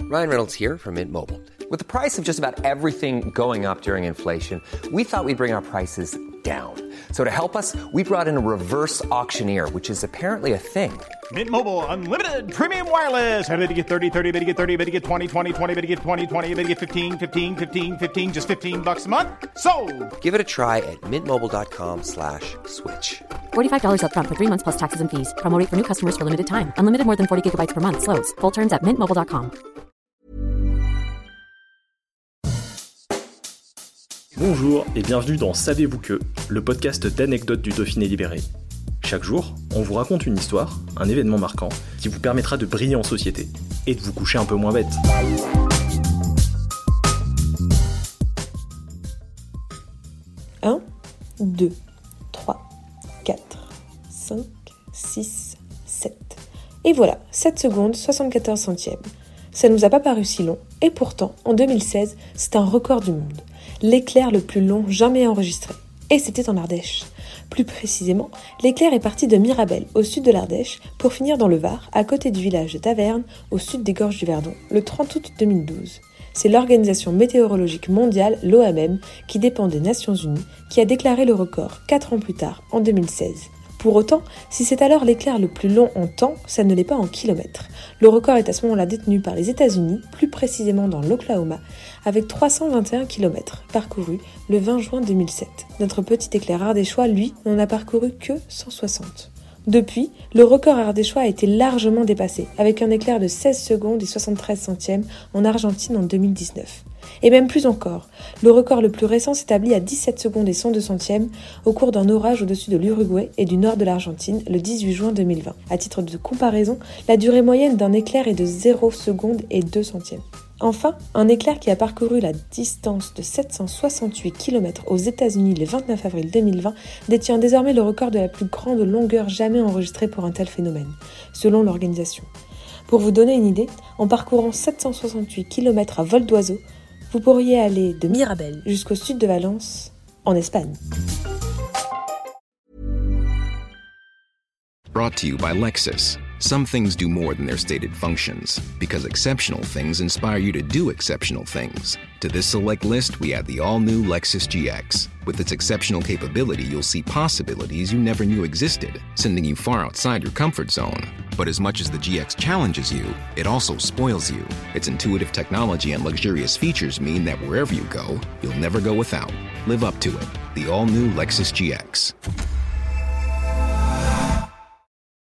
Ryan Reynolds here from Mint Mobile. With the price of just about everything going up during inflation, we thought we'd bring our prices down. So to help us, we brought in a reverse auctioneer, which is apparently a thing. Mint Mobile Unlimited Premium Wireless. How to get 30, 30, bit to get 30, bit to get 20, 20, 20, bit to get 20, 20, bit to get 15, 15, 15, 15, just $15 a month? Sold! Give it a try at mintmobile.com/switch. $45 up front for 3 months plus taxes and fees. Promo rate for new customers for limited time. Unlimited more than 40 gigabytes per month. Slows full terms at mintmobile.com. Bonjour et bienvenue dans Savez-vous que, le podcast d'anecdotes du Dauphiné libéré. Chaque jour, on vous raconte une histoire, un événement marquant, qui vous permettra de briller en société et de vous coucher un peu moins bête. Un, 2, 3, 4, 5, 6, 7. Et voilà, 7 secondes, 74 centièmes. Ça nous a pas paru si long, et pourtant, en 2016, c'est un record du monde. L'éclair le plus long jamais enregistré. Et c'était en Ardèche. Plus précisément, l'éclair est parti de Mirabel, au sud de l'Ardèche, pour finir dans le Var, à côté du village de Taverne, au sud des Gorges du Verdon, le 30 août 2012. C'est l'Organisation météorologique mondiale, l'OMM, qui dépend des Nations Unies, qui a déclaré le record 4 ans plus tard, en 2016. Pour autant, si c'est alors l'éclair le plus long en temps, ça ne l'est pas en kilomètres. Le record est à ce moment-là détenu par les États-Unis, plus précisément dans l'Oklahoma, avec 321 km parcourus le 20 juin 2007. Notre petit éclair ardéchois, lui, n'en a parcouru que 160. Depuis, le record ardéchois a été largement dépassé, avec un éclair de 16 secondes et 73 centièmes en Argentine en 2019. Et même plus encore, le record le plus récent s'établit à 17 secondes et 102 centièmes au cours d'un orage au-dessus de l'Uruguay et du nord de l'Argentine le 18 juin 2020. À titre de comparaison, la durée moyenne d'un éclair est de 0 secondes et 2 centièmes. Enfin, un éclair qui a parcouru la distance de 768 km aux États-Unis le 29 avril 2020 détient désormais le record de la plus grande longueur jamais enregistrée pour un tel phénomène, selon l'organisation. Pour vous donner une idée, en parcourant 768 km à vol d'oiseau, vous pourriez aller de Mirabel jusqu'au sud de Valence, en Espagne. Brought to you by Lexus. Some things do more than their stated functions, because exceptional things inspire you to do exceptional things. To this select list, we add the all-new Lexus GX. With its exceptional capability, you'll see possibilities you never knew existed, sending you far outside your comfort zone. But as much as the GX challenges you, it also spoils you. Its intuitive technology and luxurious features mean that wherever you go, you'll never go without. Live up to it. The all-new Lexus GX.